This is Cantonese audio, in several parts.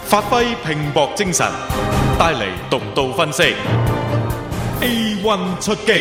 發揮拼搏精神，帶嚟獨到分析。A1 出擊。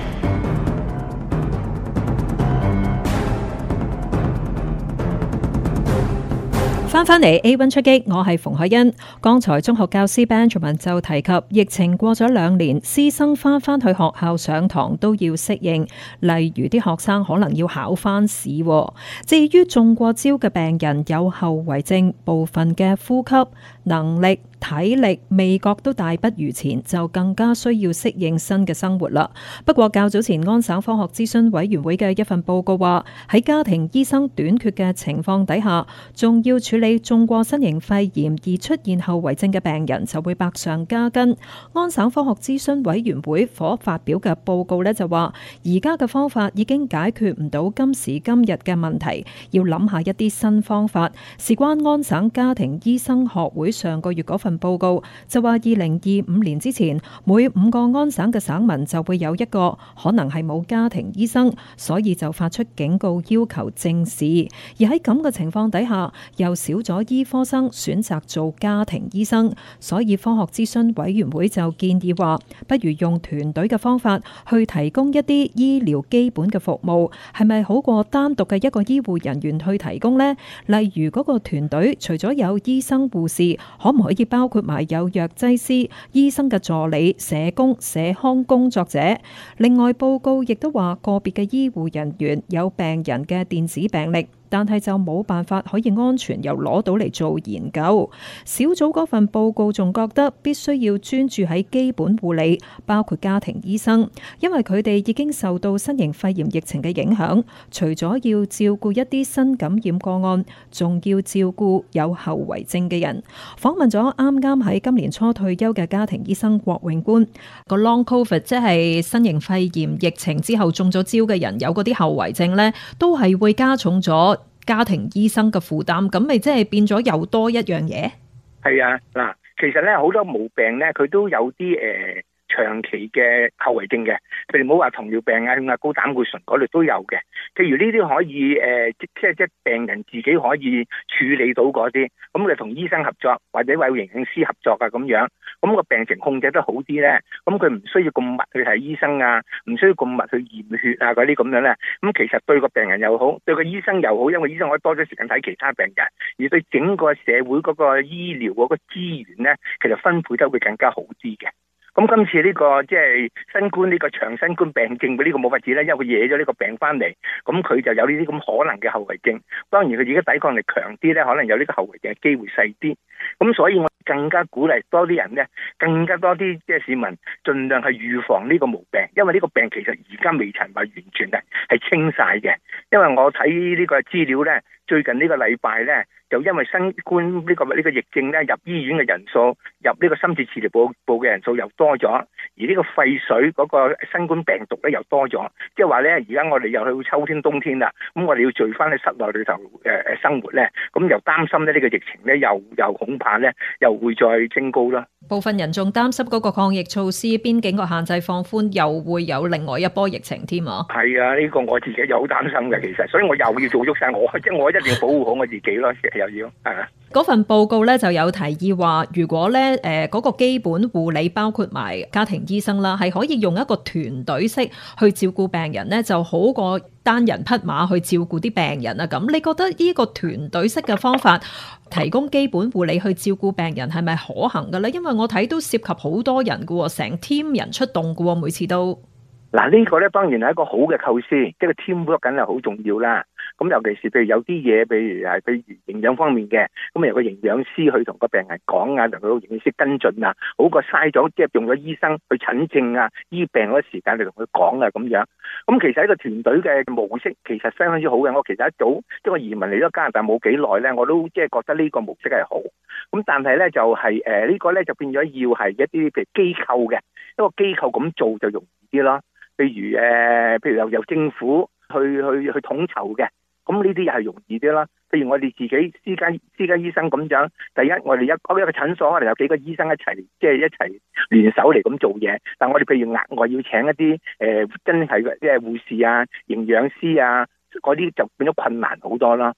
翻嚟 A1 出擊，我係馮海欣。剛才中學教師 Benjamin 就提及，疫情過咗2年，師生翻去學校上堂都要適應，例如啲學生可能要考翻試。至於中過招嘅病人有後遺症，部分嘅呼吸能力、體力、味覺都大不如前，就更加需要適應新嘅生活啦。不過較早前安省科學諮詢委員會嘅一份報告話，喺家庭醫生短缺嘅情況底下，仲要處理中過新型肺炎而出現後遺症嘅病人就會百上加斤。安省科學諮詢委員會所發表嘅報告呢，就話，而家嘅方法已經解決唔到今時今日嘅問題，要諗下一啲新方法。事關安省家庭醫生學會上個月嗰份報告就話，2025年之前，每5個安省嘅省民就會有1個可能係冇家庭醫生，所以就發出警告，要求正視。而喺咁嘅情況底下，又少咗醫科生選擇做家庭醫生，所以科學諮詢委員會就建議話，不如用團隊嘅方法去提供一啲醫療基本嘅服務，係咪好過單獨嘅一個醫護人員去提供呢？例如嗰個團隊除咗有醫生護士，可唔可以包括埋有藥劑師、醫生嘅助理、社工、社康工作者？另外報告亦都話，個別嘅醫護人員有病人嘅電子病歷，但係就冇辦法可以安全又攞到嚟做研究。小組嗰份報告仲覺得必須要專注喺基本護理，包括家庭醫生，因為佢哋已經受到新型肺炎疫情嘅影響，除咗要照顧一啲新感染個案，仲要照顧有後遺症嘅人。訪問咗啱啱喺今年初退休嘅家庭醫生郭永官，個 Long COVID 即係新型肺炎疫情之後中咗招嘅人，有嗰啲後遺症呢，都係會加重咗家庭醫生嘅負擔，咁咪即係變咗又多一樣嘢？ 係啊，嗱，其實咧好多毛病咧，佢都有啲長期嘅後遺症嘅，譬如唔好話糖尿病啊、血壓高、膽固醇嗰類都有嘅。譬如呢啲可以即病人自己可以處理到嗰啲，咁佢同醫生合作或者有營養師合作啊咁樣，咁個病情控制得好啲咧，咁佢唔需要咁密去睇醫生啊，唔需要咁密去驗血啊嗰啲咁樣咧，咁其實對個病人又好，對個醫生又好，因為醫生可以多咗時間睇其他病人，而對整個社會嗰個醫療嗰個資源咧，其實分配得會更加好啲嘅。咁今次呢個即係新冠呢個長新冠病症嘅呢個冇法子咧，因為佢惹咗呢個病翻嚟，咁佢就有呢啲咁可能嘅後遺症。當然佢而家抵抗力強啲咧，可能有呢個後遺症嘅機會細啲。咁所以我更加鼓勵多啲人咧，更加多啲即係市民盡量去預防呢個毛病，因為呢個病其實而家未曾話完全係清晒嘅。因為我睇呢個資料咧，最近呢個禮拜咧，就因為新冠呢個疫症咧，入醫院嘅人數、入呢個深切治療部嘅人數又多咗，而呢個肺水嗰個新冠病毒咧又多咗，即係話咧，而家我哋又去秋天冬天啦，咁我哋要聚翻喺室內裏頭生活咧，咁又擔心咧呢個疫情咧又恐怕咧又會再升高啦。 部分人仲擔心嗰個抗疫措施、邊境個限制放寬，又會有另外一波疫情添啊！ 係啊，呢個我自己又好擔心嘅，其實，所以我又要做足晒，即係我一定要保護好我自己咯，又要係啊。 嗰份報告咧就有提議話，如果咧嗰個基本護理包括埋家庭醫生啦，係可以用一個團隊式去照顧病人咧，就好過單人匹馬去照顧啲病人啊。咁你覺得呢個團隊式嘅方法提供基本護理去照顧病人係咪可行嘅咧？因為我睇都涉及好多人嘅喎，成 team 人出動嘅喎，每次都。 嗱，呢個咧當然係一個好嘅構思，即係 teamwork 緊係好重要啦。咁尤其是譬如有啲嘢，譬如營養方面嘅，咁由個營養師去同個病人講啊，同個營養師跟進啊，好過嘥咗即係用咗醫生去診症啊、醫病嗰時間嚟同佢講啊咁樣。咁其實一個團隊嘅模式其實相當之好嘅。我其實一早即係我移民嚟咗加拿大冇幾耐咧，我都即係覺得呢個模式係好。咁但係咧就係呢個咧就變咗要係一啲譬如機構嘅一個機構咁做就容易啲咯。譬如由政府去統籌嘅，咁呢啲又係容易啲啦。譬如我哋自己私家醫生咁樣，第一我哋一個診所，我哋有幾個醫生一齊聯手嚟咁做嘢。但我哋譬如額外要請一啲真係即係護士啊、營養師啊嗰啲，就變咗困難好多啦。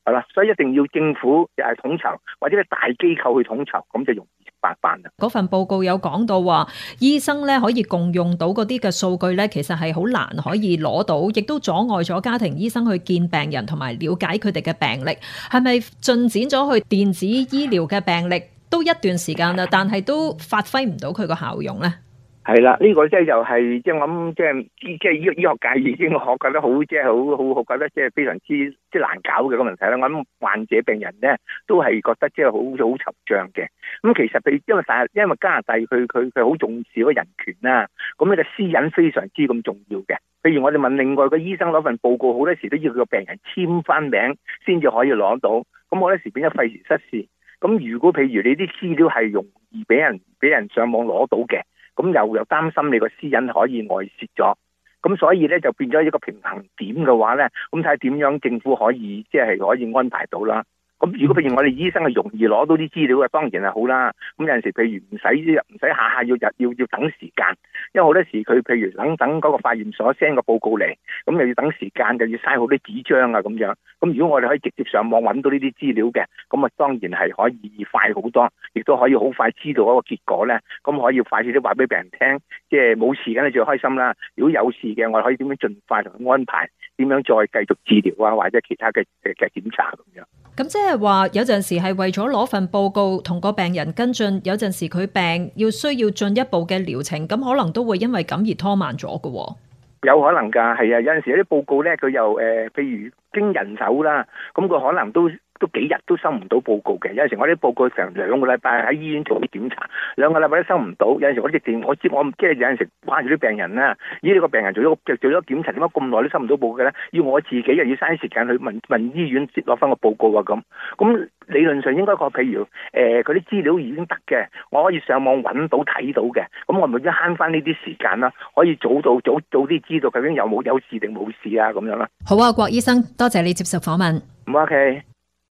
係啦，所以一定要政府統籌，或者係大機構去統籌，咁就容易辦啦。 嗰份報告有講到話，醫生咧可以共用到嗰啲嘅數據咧，其實係好難可以攞到，亦都阻礙咗家庭醫生去見病人同埋了解佢哋嘅病歷。係咪進展咗去電子醫療嘅病歷都一段時間啦，但係都發揮唔到佢個效用咧？ 係啦，呢個即係又係即係我諗，即係醫學界已經我覺得好即係好覺得即係非常之即係難搞嘅個問題啦。我諗患者病人咧都係覺得即係好惆悵嘅。咁其實因為加拿大佢好重視嗰個人權啦，咁呢個私隱非常之咁重要嘅。譬如我哋問另外個醫生攞份報告，好多時都要佢個病人簽翻名先至可以攞到，咁好多時變咗費時失事。咁如果譬如你啲資料係容易俾人上網攞到嘅，咁又擔心你個私隱可以外泄咗，咁所以咧就變咗一個平衡點嘅話咧，咁睇下點樣政府可以即係可以安排到啦。咁如果譬如我哋醫生係容易攞到啲資料嘅，當然係好啦。咁有陣時譬如唔使下下要等時間，因為好多時佢譬如等嗰個化驗所 send 個報告嚟，咁又要等時間，就要嘥好多紙張啊咁樣。咁如果我哋可以直接上網揾到呢啲資料嘅，咁啊當然係可以快好多，亦都可以好快知道嗰個結果咧。咁可以快啲話俾病人聽，即係冇事梗係最開心啦。如果有事嘅，我哋可以點樣盡快同佢安排，點樣再繼續治療啊，或者其他嘅檢查咁樣。 咁即係話有陣時係為咗攞份報告同個病人跟進，有陣時佢病需要進一步嘅療程，咁可能都會因為咁而拖慢咗㗎喎。 有可能㗎，係啊，有陣時有啲報告咧，佢又譬如經人手啦，咁佢可能都幾日都收唔到報告嘅。有陣時我啲報告成2個禮拜喺醫院做啲檢查，2個禮拜都收唔到。有陣時我直情我即係有陣時關住啲病人啦，呢個病人做咗檢查，點解咁耐都收唔到報告咧？要我自己又要嘥時間去問醫院攞翻個報告啊咁理論上應該譬如嗰啲資料已經得嘅，我可以上網揾到睇到嘅，咁我咪要慳翻呢啲時間啦，可以早啲知道究竟有事定冇事啊咁樣啦。 好啊，郭醫生，多謝你接受訪問。 唔 OK。